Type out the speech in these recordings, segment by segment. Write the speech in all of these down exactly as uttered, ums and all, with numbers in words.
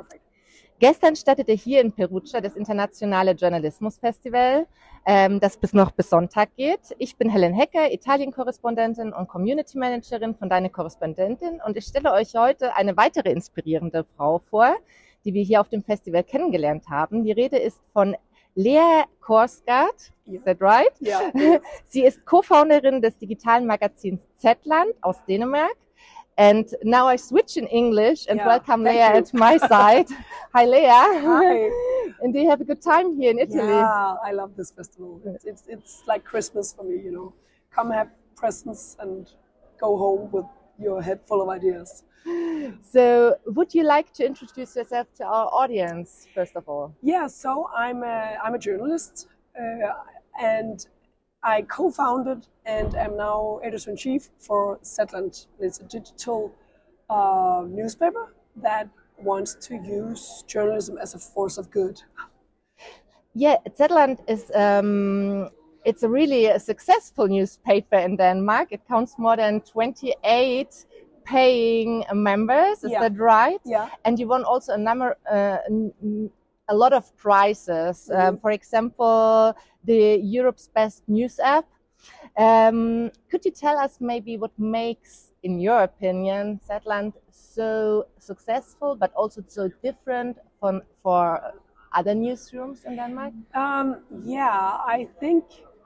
Perfect. Gestern startete hier in Perugia das Internationale Journalismus-Festival, ähm, das bis noch bis Sonntag geht. Ich bin Helen Hecker, Italien-Korrespondentin und Community-Managerin von Deine Korrespondentin, und ich stelle euch heute eine weitere inspirierende Frau vor, die wir hier auf dem Festival kennengelernt haben. Die Rede ist von Lea Korsgaard. Is that right? Yeah. Yes. Sie ist Co-Founderin des digitalen Magazins Z-Land aus Dänemark. And now I switch in English and Yeah, welcome thank Lea you. at my side. Hi, Lea. Hi. And do you have a good time here in Italy? Yeah, I love this festival. It's, it's, it's like Christmas for me, you know. Come have presents and go home with your head full of ideas. So, would you like to introduce yourself to our audience, first of all? Yeah, so I'm a, I'm a journalist uh, and I co-founded and am now editor-in-chief for Z-Land. It's a digital uh, newspaper that wants to use journalism as a force of good. Yeah, Z-Land is um, it's a really a successful newspaper in Denmark. It counts more than twenty-eight paying members. Is Yeah. that right? Yeah. And you won also a number, uh, a lot of prizes. Mm-hmm. Um, for example, the Europe's Best News App. Um, could you tell us maybe what makes, in your opinion, Z-Land so successful, but also so different from for other newsrooms in Denmark? Um, yeah, I think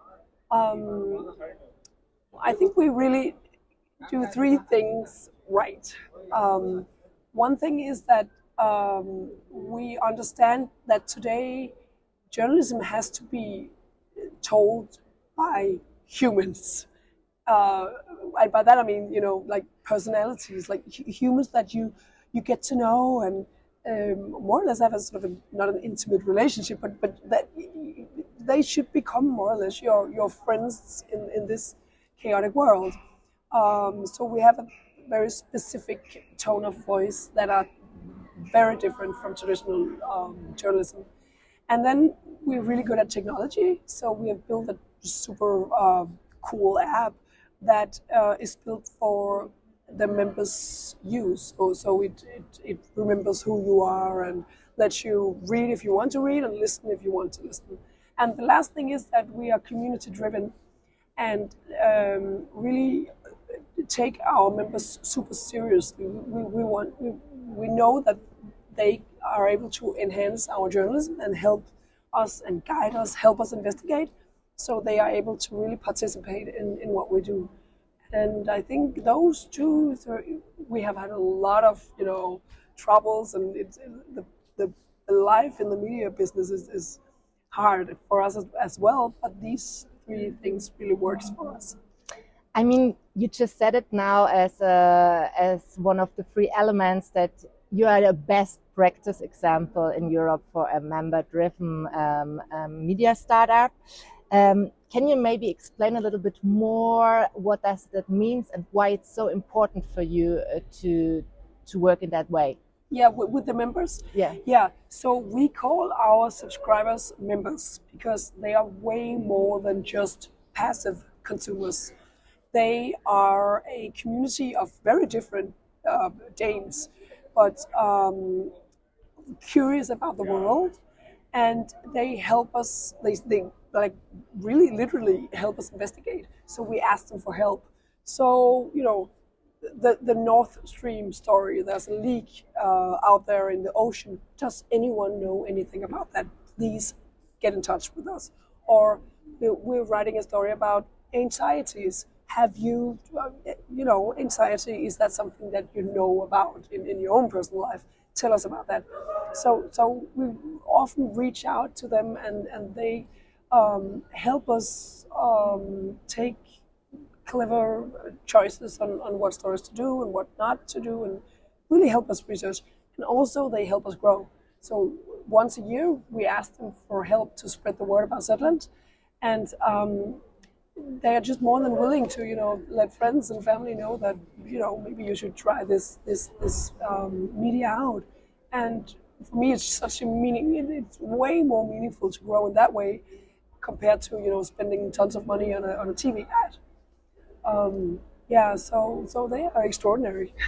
um, I think we really do three things right. Um, one thing is that um, we understand that today journalism has to be told by humans. Uh, and by that I mean, you know, like personalities, like hu- humans that you you get to know and um, more or less have a sort of a, not an intimate relationship, but but that they should become more or less your your friends in, in this chaotic world. Um, so we have a very specific tone of voice that are very different from traditional um, journalism. And then we're really good at technology. So we have built a super uh, cool app that uh, is built for the members' use. So, so it, it, it remembers who you are and lets you read if you want to read and listen if you want to listen. And the last thing is that we are community driven and um, really take our members super seriously. We, we want we, we know that they are able to enhance our journalism and help us and guide us, help us investigate, so they are able to really participate in, in what we do. And I think those two, three, we have had a lot of, you know, troubles, and it's the, the, the life in the media business is, is hard for us as, as well, but these three things really works for us. I mean, you just said it now as a, as one of the three elements that you are the best practice example in Europe for a member-driven um, um, media startup. Um, can you maybe explain a little bit more what does that mean and why it's so important for you uh, to to work in that way? Yeah, with, with the members? Yeah. Yeah, so we call our subscribers members because they are way more than just passive consumers. They are a community of very different uh, Danes, but um, curious about the world, and they help us, they, they like really literally help us investigate. So we ask them for help. So, you know, the, the Nord Stream story, there's a leak uh, out there in the ocean. Does anyone know anything about that? Please get in touch with us. Or we're writing a story about anxieties. Have you, you know, anxiety, is that something that you know about in, in your own personal life? Tell us about that. So so we often reach out to them, and, and they um, help us um, take clever choices on, on what stories to do and what not to do, and really help us research. And also they help us grow. So once a year we ask them for help to spread the word about Z-Land, and um, they are just more than willing to, you know, let friends and family know that, you know, maybe you should try this this this um, media out. And for me, it's such a meaning. It's way more meaningful to grow in that way compared to, you know, spending tons of money on a on a T V ad. Um, yeah, so so they are extraordinary.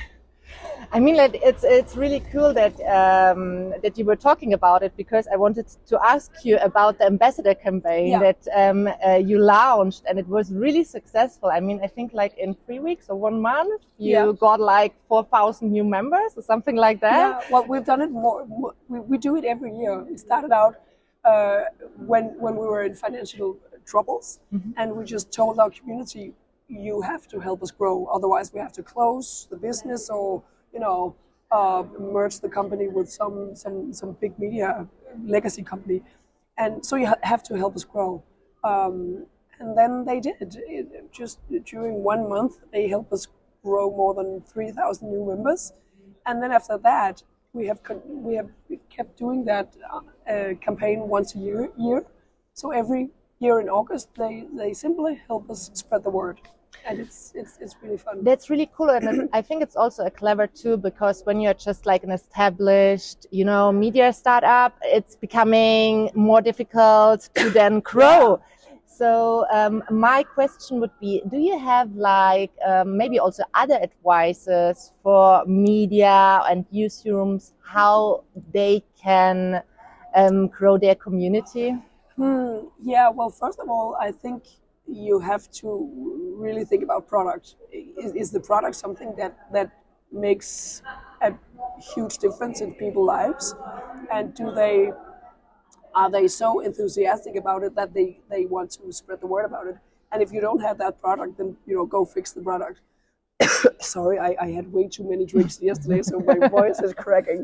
I mean, like, it's it's really cool that um, that you were talking about it, because I wanted to ask you about the ambassador campaign Yeah. that um, uh, you launched, and it was really successful. I mean, I think like in three weeks or one month, you Yeah. got like four thousand new members or something like that. Yeah, well, we've done it more. more- We, we do it every year. It started out uh, when when we were in financial troubles, and we just told our community, you have to help us grow. Otherwise, we have to close the business, or you know, uh, merge the company with some some some big media legacy company. And so you ha- have to help us grow. Um, and then they did. It, just during one month, they helped us grow more than three thousand new members. And then after that, we have con- we have kept doing that uh, campaign once a year. Year. So every year in August, they, they simply help us spread the word. And it's it's it's really fun. That's really cool, and it, I think it's also a clever tool, because when you're just like an established, you know, media startup, it's becoming more difficult to then grow. So um, my question would be: do you have like um, maybe also other advices for media and newsrooms how they can um, grow their community? Hmm, yeah, well, first of all, I think you have to really think about product. Is, is the product something that, that makes a huge difference in people's lives? And do they are they so enthusiastic about it that they, they want to spread the word about it? And if you don't have that product, then you know go fix the product. Sorry, I, I had way too many drinks yesterday, so my voice is cracking.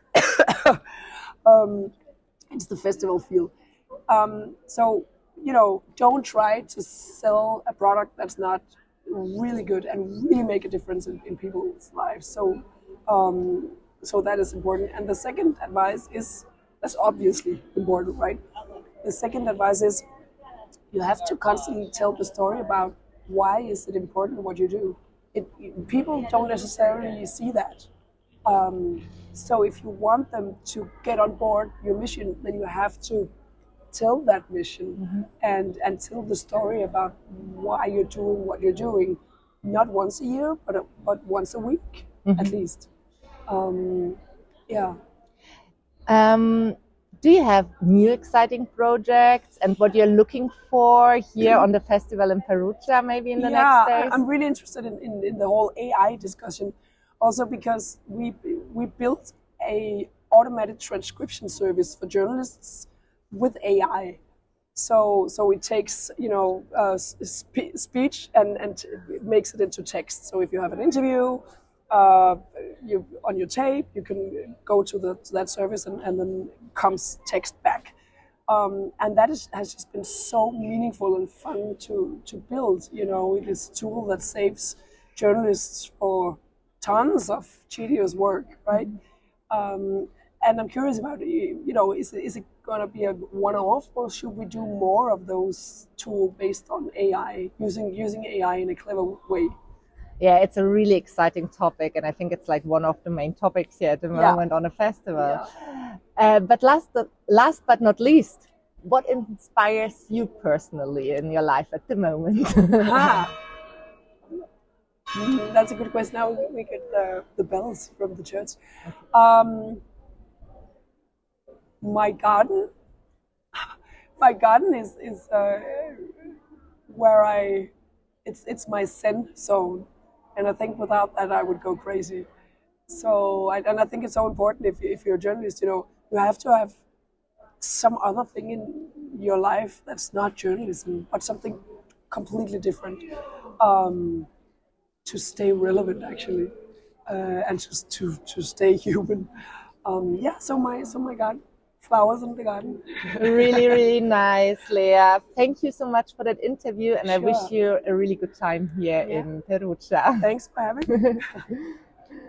um, it's the festival feel. Um, so, you know, don't try to sell a product that's not really good and really make a difference in, in people's lives. So, um, so that is important. And the second advice is, that's obviously important, right? The second advice is you have to constantly tell the story about why is it important what you do. It, people don't necessarily see that. Um, so if you want them to get on board your mission, then you have to tell that mission mm-hmm. and and tell the story about why you're doing what you're doing, not once a year, but a, but once a week mm-hmm. at least. Um, yeah. Um, do you have new exciting projects and what you're looking for here on the festival in Perugia, maybe in the yeah, next days? Yeah, I'm really interested in, in, in the whole A I discussion, also because we we built a automated transcription service for journalists with A I. So so it takes, you know, uh, spe- speech and, and it makes it into text. So if you have an interview uh, you on your tape, you can go to, the, to that service and, and then comes text back. Um, and that is, has just been so meaningful and fun to, to build, you know, this tool that saves journalists for tons of tedious work, right? Um, and I'm curious about, you know, is, is it going to be a one-off, or should we do more of those tools based on A I, using using A I in a clever way? Yeah, it's a really exciting topic, and I think it's like one of the main topics here at the moment yeah. on a festival. Yeah. Uh, but last, last but not least, what inspires you personally in your life at the moment? ah. mm, that's a good question. Now we get the, the bells from the church. Um, my garden. My garden is is uh, where I. It's it's my zen zone. And I think without that, I would go crazy. So, I, and I think it's so important if, if you're a journalist, you know, you have to have some other thing in your life that's not journalism, but something completely different um, to stay relevant, actually, uh, and just to, to stay human. Um, yeah, so my, so my garden. Flowers in the garden. Really, really nice, Leah. Thank you so much for that interview, and sure. I wish you a really good time here yeah. in Perugia. Thanks for having me.